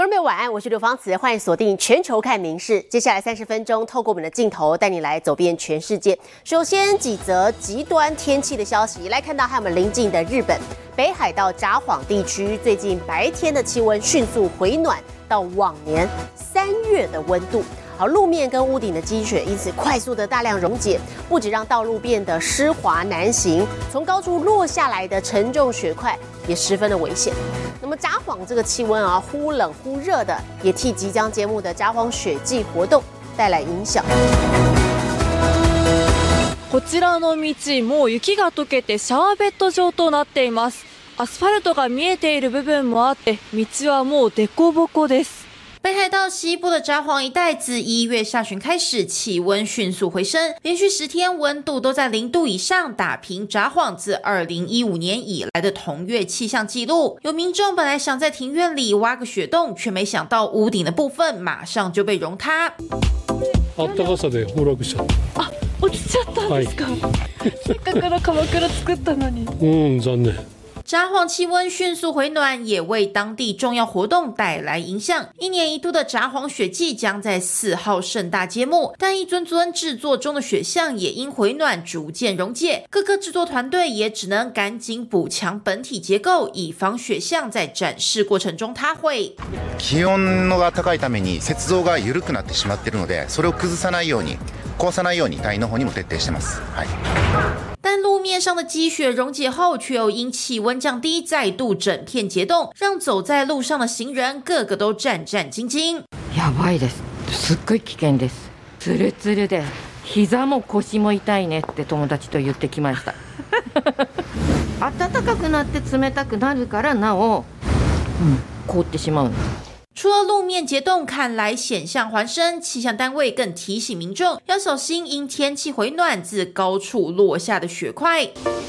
观众朋友晚安，我是刘芳慈，欢迎锁定全球看名事。接下来30分钟，透过我们的镜头带你来走遍全世界。首先几则极端天气的消息，来看到和我们邻近的日本北海道札幌地区，最近白天的气温迅速回暖到往年3月的温度。好，路面跟屋顶的积雪因此快速的大量溶解，不止让道路变得湿滑难行，从高处落下来的沉重雪块也十分的危险。那么札幌这个气温忽冷忽热的，也替即将揭幕的札幌雪季活动带来影响。 こちらの道、もう雪が溶けてシャーベット状となっています。アスファルトが見えている部分もあって、道はもう凸凹です。 北海道西部的札幌一带自1月下旬开始，气温迅速回升，连续10天温度都在0度以上，打平札幌自2015年以来的同月气象记录。有民众本来想在庭院里挖个雪洞，却没想到屋顶的部分马上就被融塌。 あったかさで崩落しちゃった。 落ちちゃったんですか？せっかくの鎌倉作ったのに。 残念。 札幌气温迅速回暖，也为当地重要活动带来影响。1年1度的札幌雪季将在4号盛大揭幕，但一尊尊制作中的雪像也因回暖逐渐溶解，各个制作团队也只能赶紧补强本体结构，以防雪像在展示过程中塌毁。 気温が高いために雪像が緩くなってしまっているので、それを崩さないように、壊さないように隊員の方にも徹底してます。はい。 但路面上的积雪溶解后，却又因气温降低，再度整片结冻，让走在路上的行人个个都战战兢兢。 やばいです。すっごい危険です。ツルツルで膝も腰も痛いねって友達と言ってきました。暖かくなって冷たくなるからなお、凍ってしまう。 除了路面结冻看来险象环生，气象单位更提醒民众要小心因天气回暖自高处落下的雪块。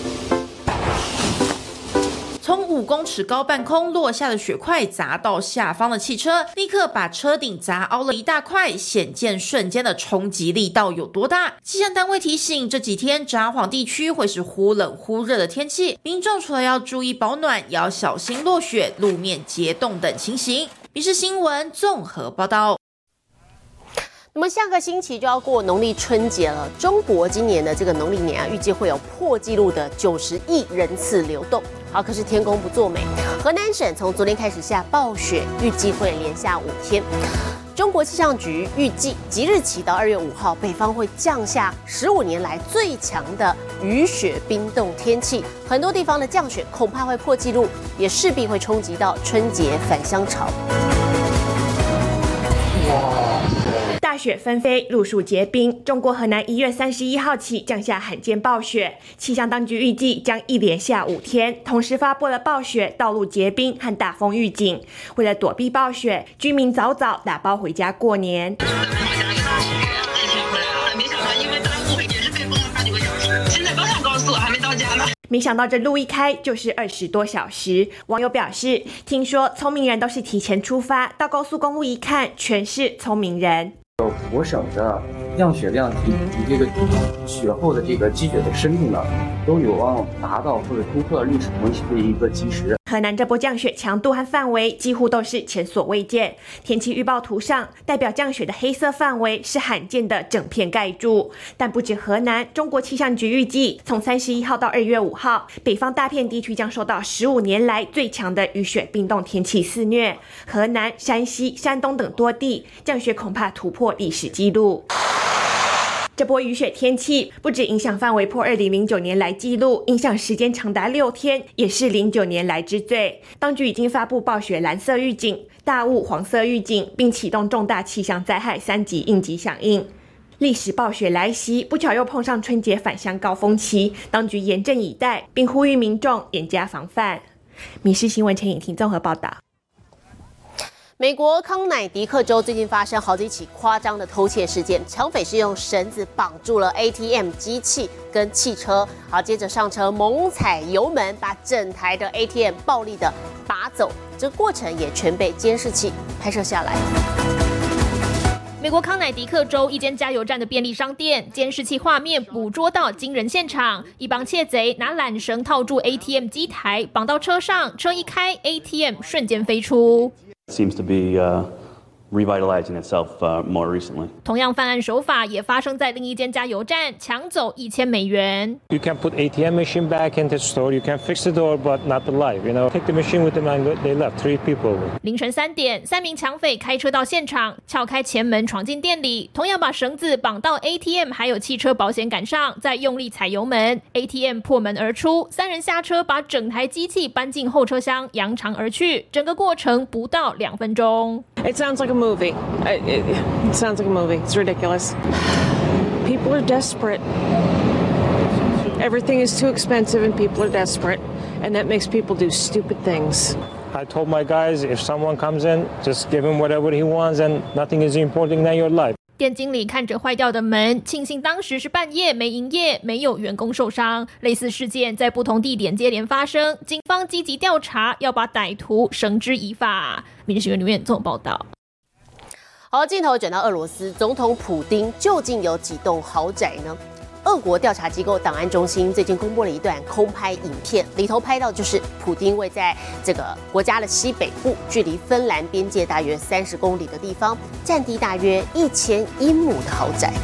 从5公尺高半空落下的雪块砸到下方的汽车，立刻把车顶砸凹了一大块，显见瞬间的冲击力道有多大。气象单位提醒，这几天札幌地区会是忽冷忽热的天气，民众除了要注意保暖，也要小心落雪、路面结冻等情形。民视新闻综合报道。 那么下个星期就要过农历春节了，中国今年的这个农历年预计会有破纪录的90亿人次流动。好，可是天公不作美，河南省从昨天开始下暴雪，预计会连下5天。中国气象局预计即日起到2月5号，北方会降下15年来最强的雨雪冰冻天气，很多地方的降雪恐怕会破纪录，也势必会冲击到春节返乡潮。 大雪纷飞，路树结冰。中国河南1月31号起降下罕见暴雪，气象当局预计将一连下5天，同时发布了暴雪、道路结冰和大风预警。为了躲避暴雪，居民早早打包回家过年。没想到这路一开就是20多小时。网友表示，听说聪明人都是提前出发，到高速公路一看，全是聪明人。 我省的降雪量及这个雪后的这个积雪的深度呢，都有望达到或者突破历史同期的一个基石。 河南这波降雪强度和范围几乎都是前所未见。天气预报图上代表降雪的黑色范围是罕见的整片盖住。但不止河南，中国气象局预计从31号到2月5号，北方大片地区将受到15年来最强的雨雪冰冻天气肆虐。河南、山西、山东等多地降雪恐怕突破历史纪录。这波雨雪天气不止影响范围破2009年来纪录，影响时间长达6天，也是09年来之最。当局已经发布暴雪蓝色预警、大雾黄色预警，并启动重大气象灾害3级应急响应。历史暴雪来袭，不巧又碰上春节返乡高峰期，当局严阵以待，并呼吁民众严加防范。民视新闻陈颖婷综合报道。 美国康乃狄克州最近发生好几起夸张的偷窃事件，抢匪是用绳子绑住了 ATM 机器跟汽车，好，接着上车猛踩油门，把整台的 ATM 暴力的拔走，这个过程也全被监视器拍摄下来。 美国康乃狄克州一间加油站的便利商店，监视器画面捕捉到惊人现场：一帮窃贼拿缆绳套住 ATM 机台，绑到车上，车一开 ，ATM 瞬间飞出。 Seems to be revitalizing itself more recently. 同样犯案手法也发生在另一间加油站，抢走$1000。 You can put ATM machine back into the store. You can fix the door, but not the light. You know, take the machine with them and they left 3 people. 凌晨3点，3名抢匪开车到现场，撬开前门闯进店里，同样把绳子绑到 ATM 还有汽车保险杆上，再用力踩油门 ，ATM 破门而出，3人下车把整台机器搬进后车厢，扬长而去。整个过程不到2分钟。 It sounds like a movie. It sounds like a movie. It's ridiculous. People are desperate. Everything is too expensive and people are desperate. And that makes people do stupid things. I told my guys, if someone comes in, just give him whatever he wants and nothing is important than your life. 店经理看着坏掉的门，庆幸当时是半夜没营业，没有员工受伤。类似事件在不同地点接连发生，警方积极调查，要把歹徒绳之以法。民事新闻刘苑综合报道。 好，镜头转到俄罗斯，总统普丁究竟有几栋豪宅呢？俄国调查机构档案中心最近公布了一段空拍影片，里头拍到就是普丁位在这个国家的西北部，距离芬兰边界大约30公里的地方，占地大约1000英亩的豪宅。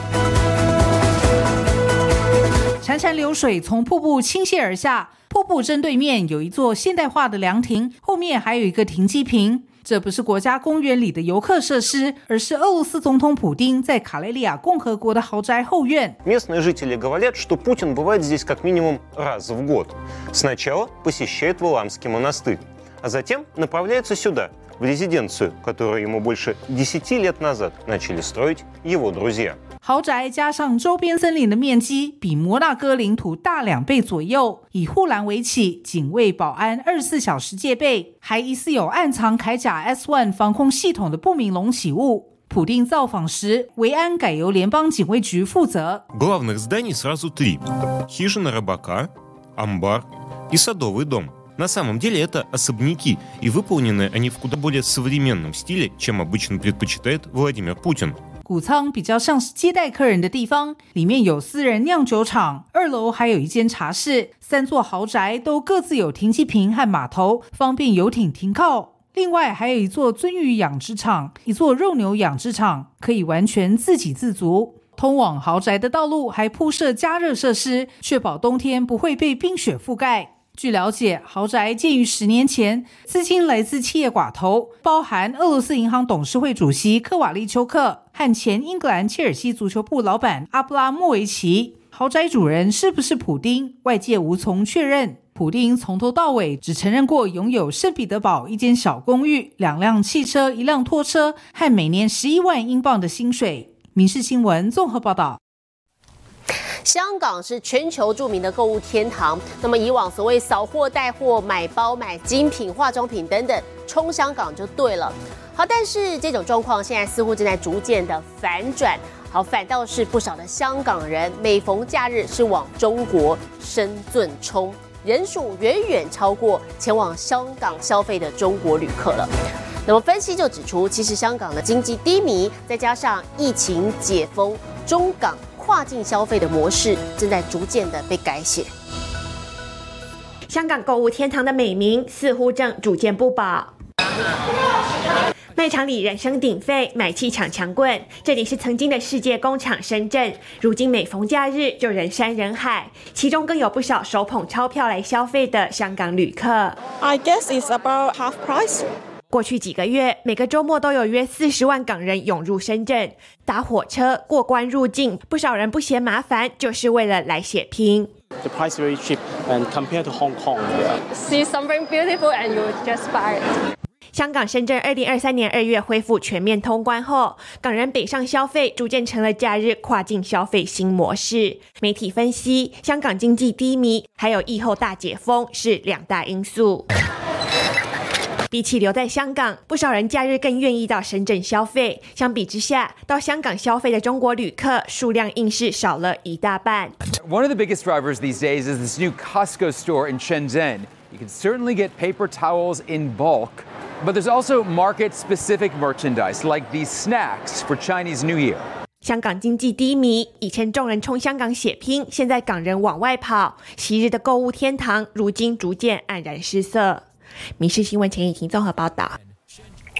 潺潺流水从瀑布倾泻而下，瀑布正对面有一座现代化的凉亭，后面还有一个停机坪。这不是国家公园里的游客设施，而是俄罗斯总统普丁在卡累利亚共和国的豪宅后院。 Местные жители говорят, что Путин бывает здесь как минимум раз в год. Сначала посещает Валаамский монастырь, а затем направляется сюда, в резиденцию, которую ему больше 10 лет назад начали строить его друзья. 豪宅加上周边森林的面积比摩纳哥领土大2倍左右，以护栏围起，警卫保安24小时戒备，还疑似有暗藏铠甲 S-1 防空系统的不明隆起物。普丁造访时，维安改由联邦警卫局负责。 Главных зданий сразу 3: хижина рыбака, амбар и садовый дом. На самом деле это особняки, и выполнены они в куда более современном стиле, чем обычно предпочитает Владимир Путин. 谷仓比较像是接待客人的地方，里面有私人酿酒厂，2楼还有一间茶室，3座豪宅都各自有停机坪和码头，方便游艇停靠。另外还有一座鳟鱼养殖场，一座肉牛养殖场，可以完全自给自足。通往豪宅的道路还铺设加热设施，确保冬天不会被冰雪覆盖。据了解，豪宅建于10年前，资金来自企业寡头，包含俄罗斯银行董事会主席科瓦利丘克和前英格兰切尔西足球部老板阿布拉莫维奇。豪宅主人是不是普丁，外界无从确认。普丁从头到尾只承认过拥有圣彼得堡一间小公寓、2辆汽车、1辆拖车和每年11万英镑的薪水。民事新闻综合报道。 香港是全球著名的购物天堂，那么以往所谓扫货带货、买包、买精品、化妆品等等，冲香港就对了。好，但是这种状况现在似乎正在逐渐的反转。好，反倒是不少的香港人每逢假日是往中国深圳冲，人数远远超过前往香港消费的中国旅客了。那么分析就指出，其实香港的经济低迷，再加上疫情解封，中港跨境消费的模式正在逐渐的被改写。 香港购物天堂的美名似乎正逐渐不保。卖场里人声鼎沸，买气抢强棍。这里是曾经的世界工厂深圳，如今每逢假日就人山人海，其中更有不少手捧钞票来消费的香港旅客。 I guess it's about half price. 过去几个月，每个周末都有约40万港人涌入深圳，搭火车过关入境，不少人不嫌麻烦，就是为了来血拼。 The price very cheap and compared to Hong Kong. See something beautiful and you just buy it. 香港、深圳2023年2月恢复全面通关后，港人北上消费逐渐成了假日跨境消费新模式。媒体分析，香港经济低迷，还有疫后大解封是2大因素。比起留在香港，不少人假日更愿意到深圳消费。相比之下，到香港消费的中国旅客数量硬是少了一大半。 One of the biggest drivers these days is this new Costco store in Shenzhen. You can certainly get paper towels in bulk, but there's also market-specific merchandise like these snacks for Chinese New Year. 香港经济低迷，以前众人冲香港血拼，现在港人往外跑，昔日的购物天堂如今逐渐黯然失色。民事新闻钱以婷综合报道。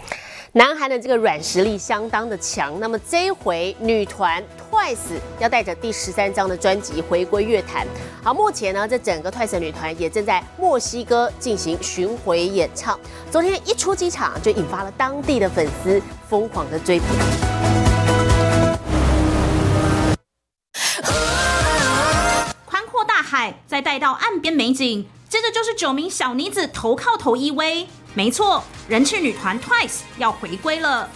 南韩的这个软实力相当的强，那么这一回女团 TWICE 要带着第13张的专辑回归乐坛。好，目前呢，这整个 TWICE 女团也正在墨西哥进行巡回演唱。昨天一出机场就引发了当地的粉丝疯狂的追捧。 宽阔大海，再带到岸边美景，接着就是9名小女子头靠头依偎。没错，人气女团 TWICE 要回归了。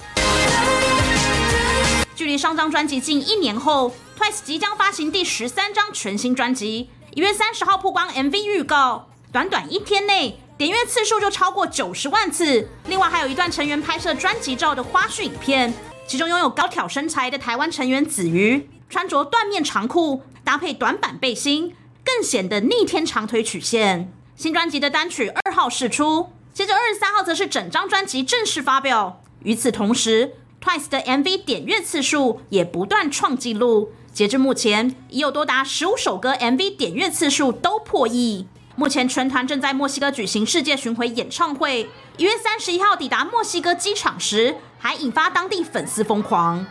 距离上张专辑近1年后 ，TWICE 即将发行第13张全新专辑。1月30号曝光 MV 预告，短短1天内点阅次数就超过90万次。另外还有一段成员拍摄专辑照的花絮影片，其中拥有高挑身材的台湾成员子瑜，穿着缎面长裤搭配短版背心，更显得逆天长腿曲线。新专辑的单曲2号释出。接着23号则是整张专辑正式发表。与此同时 ，TWICE 的 MV 点阅次数也不断创纪录，截至目前已有多达15首歌 MV 点阅次数都破亿。目前全团正在墨西哥举行世界巡回演唱会，1月31号抵达墨西哥机场时，还引发当地粉丝疯狂。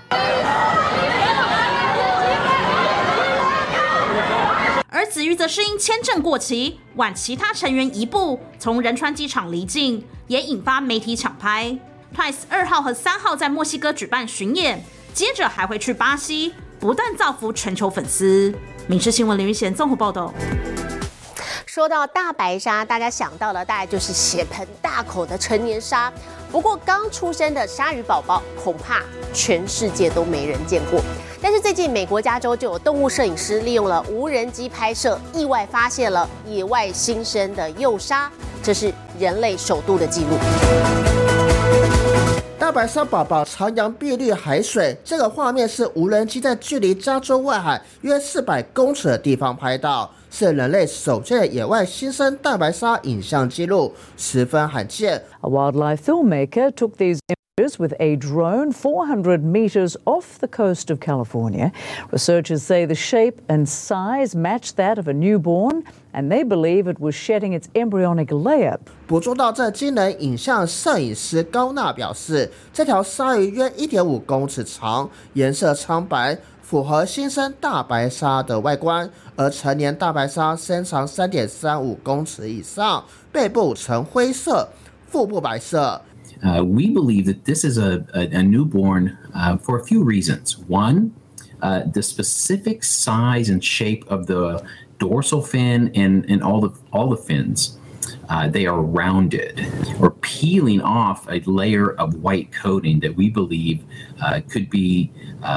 而子瑜则是因签证过期，晚其他成员1步从仁川机场离境，也引发媒体抢拍。TWICE 2号和3号在墨西哥举办巡演，接着还会去巴西，不断造福全球粉丝。民视新闻林玉贤综合报道。 说到大白鲨，大家想到的大概就是血盆大口的成年鲨。不过刚出生的鲨鱼宝宝，恐怕全世界都没人见过。但是最近美国加州就有动物摄影师利用了无人机拍摄，意外发现了野外新生的幼鲨，这是人类首度的记录。 大白鲨宝宝徜徉碧绿海水，这个画面是无人机在距离加州外海约400公尺的地方拍到，是人类首见的野外新生大白鲨影像记录，十分罕见。 A wildlife filmmaker took these images with a drone 400 meters off the coast of California. Researchers say the shape and size match that of a newborn, and they believe it was shedding its embryonic layer. 捕捉到这惊人影像，摄影师高娜表示，这条鲨鱼约 1.5 公尺长，颜色苍白，符合新生大白鲨的外观，而成年大白鲨身长 3.35 公尺以上，背部呈灰色，腹部白色。 We believe that this is a newborn for a few reasons. One, the specific size and shape of the dorsal fin and all the fins. They are rounded or peeling off a layer of white coating that we believe could be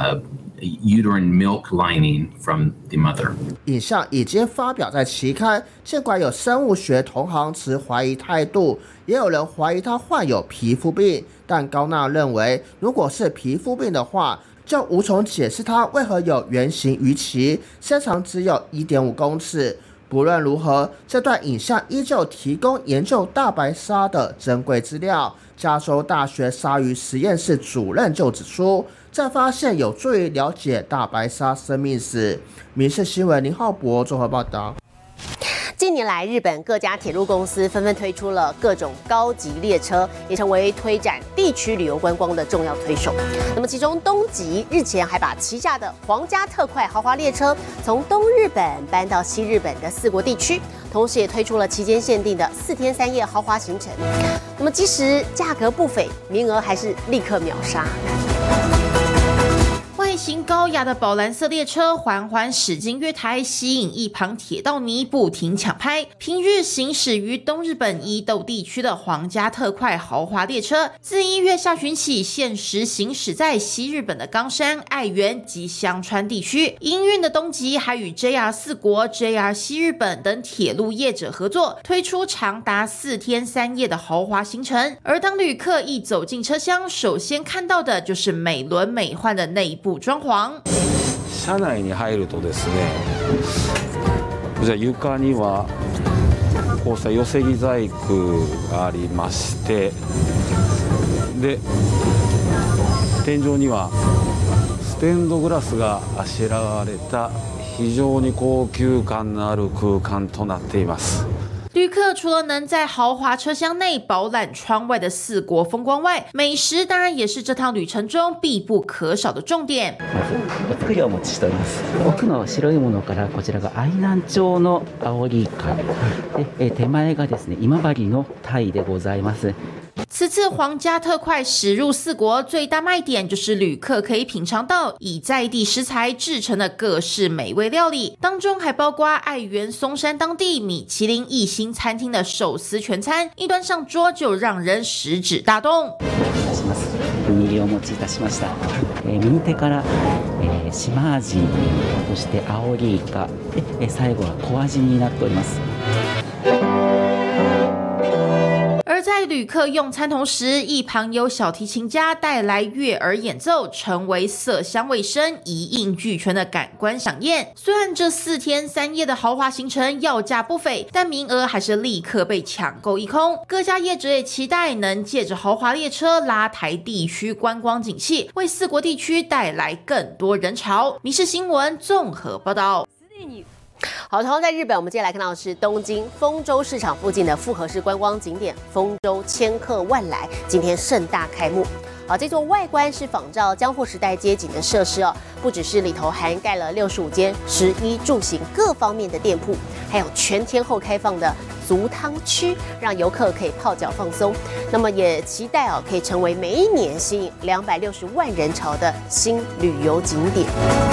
uterine milk lining from the mother. 影像已经发表在期刊，尽管有生物学同行持怀疑态度，也有人怀疑他患有皮肤病，但高娜认为，如果是皮肤病的话，就无从解释他为何有圆形鱼鳍，身长只有 1.5 公尺。不论如何，这段影像依旧提供研究大白鲨的珍贵资料。加州大学鲨鱼实验室主任就指出，这发现有助于了解大白鲨生命史。民视新闻林浩博综合报道。 近年来，日本各家铁路公司纷纷推出了各种高级列车，也成为推展地区旅游观光的重要推手。那么，其中东急日前还把旗下的皇家特快豪华列车从东日本搬到西日本的4国地区，同时也推出了期间限定的4天3夜豪华行程。那么，即使价格不菲，名额还是立刻秒杀。 外形高雅的宝蓝色列车缓缓驶进月台，吸引一旁铁道迷不停抢拍。平日行驶于东日本伊豆地区的皇家特快豪华列车，自1月下旬起限时行驶在西日本的冈山、爱媛及香川地区。营运的东急还与 JR 4国、JR 西日本等铁路业者合作，推出长达4天3夜的豪华行程。而当旅客一走进车厢，首先看到的就是美轮美奂的内部装潢。 車内に入るとですね、こちら床にはこうした寄せ木細工がありまして、で天井にはステンドグラスがあしらわれた非常に高級感のある空間となっています。 旅客除了能在豪华车厢内饱览窗外的4国风光外，美食当然也是这趟旅程中必不可少的重点。 お作りをお持ちしております。奥の白いものからこちらが愛南町のアオリイカ、で手前がですね今治のタイでございます。 此次皇家特快驶入4国，最大卖点就是旅客可以品尝到以在地食材制成的各式美味料理，当中还包括爱媛松山当地米其林1星餐厅的寿司全餐，一端上桌就让人食指大动。 ウニギをお持ちいたしました。右手から島味、そしてアオリイカ、で最後は小味になっております。 而在旅客用餐同时，一旁有小提琴家带来悦耳演奏，成为色香味声一应俱全的感官飨宴。虽然这4天3夜的豪华行程要价不菲，但名额还是立刻被抢购一空。各家业者也期待能借着豪华列车拉抬地区观光景气，为4国地区带来更多人潮。民视新闻综合报道。 好，同样在日本，我们接下来看到的是东京丰州市场附近的复合式观光景点丰州千客万来，今天盛大开幕。好，这座外观是仿照江户时代街景的设施哦，不只是里头涵盖了65间食衣住行各方面的店铺，还有全天候开放的足汤区，让游客可以泡脚放松。那么也期待哦，可以成为每一年吸引260万人潮的新旅游景点。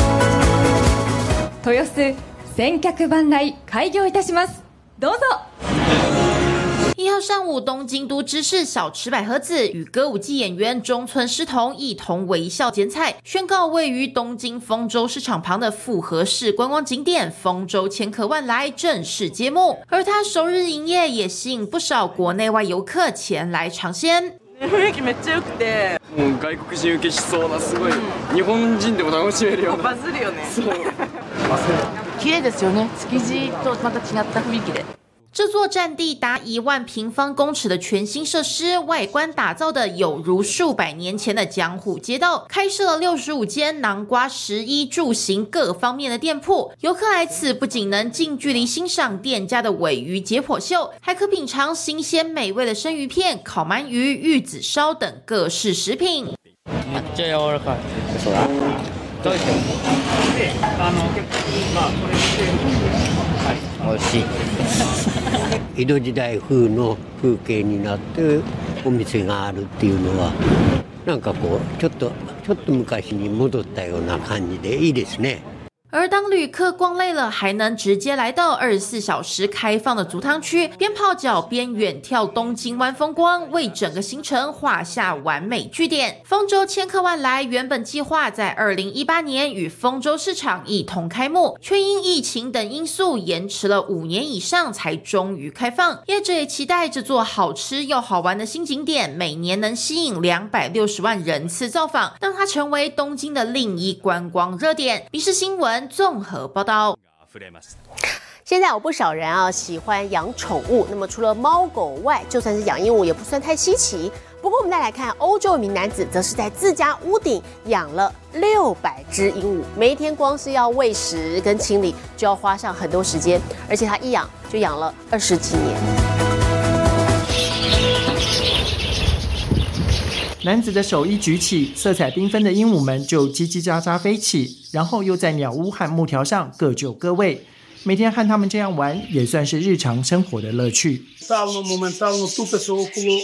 豊洲千客万来開業いたします。どうぞ。 1号上午，东京都知事小池百合子与歌舞伎演员中村狮童一同微笑剪彩，宣告位于东京丰州市场旁的复合式观光景点丰州千客万来正式揭幕。而它首日营业也吸引不少国内外游客前来尝鲜。 雰囲気めっちゃ良くて、もう外国人受けしそうなすごい日本人でも楽しめるような。バズるよね。そう。綺麗ですよね。築地とまた違った雰囲気で。 这座占地达1万平方公尺的全新设施，外观打造的有如数百年前的江户街道，开设了65间囊括食衣住行各方面的店铺。游客来此不仅能近距离欣赏店家的鲔鱼解剖秀，还可品尝新鲜美味的生鱼片、烤鳗鱼、玉子烧等各式食品。 めっちゃ柔らかい。そうだ。どうして美味しい。江戸時代風の風景になってお店があるっていうのはなんかこうちょっと昔に戻ったような感じでいいですね。 而当旅客逛累了，还能直接来到24小时开放的足汤区，边泡脚边远眺东京湾风光，为整个行程画下完美句点。丰州千客万来原本计划在2018年与丰州市场一同开幕，却因疫情等因素延迟了5年以上，才终于开放。业者也期待这座好吃又好玩的新景点，每年能吸引260万人次造访，让它成为东京的另一观光热点。民视新闻综合报道。 现在有不少人啊喜欢养宠物，那么除了猫狗外，就算是养鹦鹉也不算太稀奇。不过我们再来看，欧洲一名男子则是在自家屋顶养了600只鹦鹉，每一天光是要喂食跟清理就要花上很多时间，而且他一养就养了20几年。 男子的手一举起，色彩缤纷的鹦鹉们就叽叽喳喳飞起，然后又在鸟屋和木条上各就各位。每天和他们这样玩，也算是日常生活的乐趣。 Моментално тука са около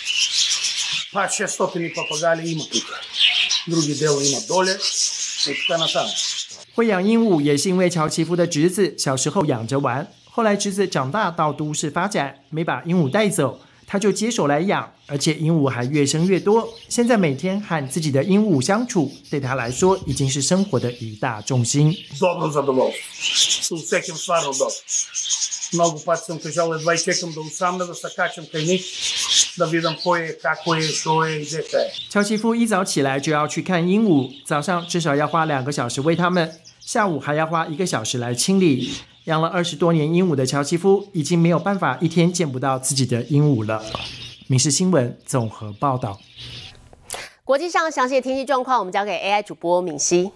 500-600 папагали има тук. Други дела има доле и така нататък. 会养鹦鹉也是因为乔奇夫的侄子小时候养着玩，后来侄子长大到都市发展，没把鹦鹉带走，他就接手来养，而且鹦鹉还越生越多。现在每天和自己的鹦鹉相处，对他来说已经是生活的一大重心。 Добро задоволство. Се усекам стварно добро. Много пъти съм кажал, едва и чекам да осамна, да се качам край них, да видам кой е, како е, що е и где е. 乔奇夫一早起来就要去看鹦鹉，早上至少要花2个小时喂它们，下午还要花1个小时来清理。养了20多年鹦鹉的乔奇夫已经没有办法一天见不到自己的鹦鹉了。民视新闻综合报道。 国际上详细的天气状况，我们交给 AI 主播敏熙。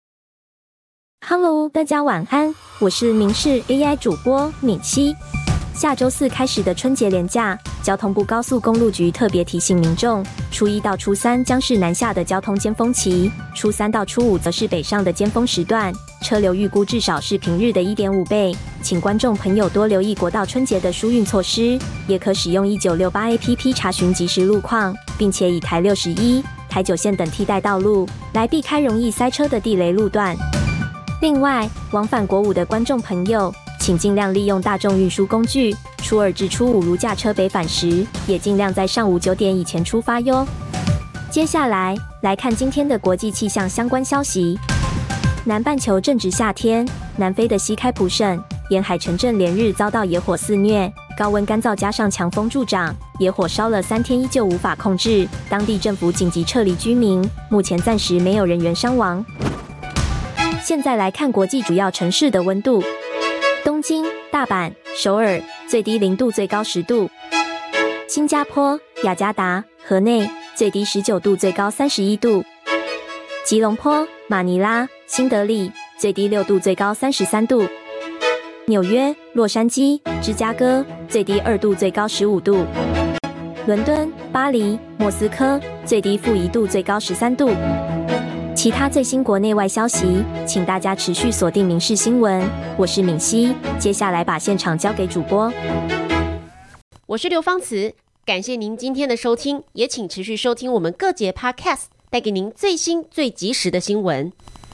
Hello， 大家晚安，我是民视 AI 主播敏熙。 下周4开始的春节连假，交通部高速公路局特别提醒民众，初1到初3将是南下的交通尖峰期，初3到初5则是北上的尖峰时段，车流预估至少是平日的 1.5 倍。请观众朋友多留意国道春节的疏运措施，也可使用1968 APP 查询即时路况，并且以台61、台9线等替代道路，来避开容易塞车的地雷路段。另外，往返国5的观众朋友，请尽量利用大众运输工具，初2至初5如驾车北返时，也尽量在上午9点以前出发哟。接下来看今天的国际气象相关消息。南半球正值夏天，南非的西开普省沿海城镇连日遭到野火肆虐，高温干燥加上强风助长，野火烧了3天依旧无法控制，当地政府紧急撤离居民，目前暂时没有人员伤亡。现在来看国际主要城市的温度。东京、大阪、首尔最低0度，最高10度；新加坡、雅加达、河内最低19度，最高31度；吉隆坡、马尼拉、新德里最低6度，最高33度；纽约、洛杉矶、芝加哥最低2度，最高15度；伦敦、巴黎、莫斯科最低-1度，最高13度。其他最新国内外消息，请大家持续锁定民视新闻。我是敏熙，接下来把现场交给主播。 我是刘芳慈，感谢您今天的收听，也请持续收听我们各节 Podcast， 带给您最新最及时的新闻。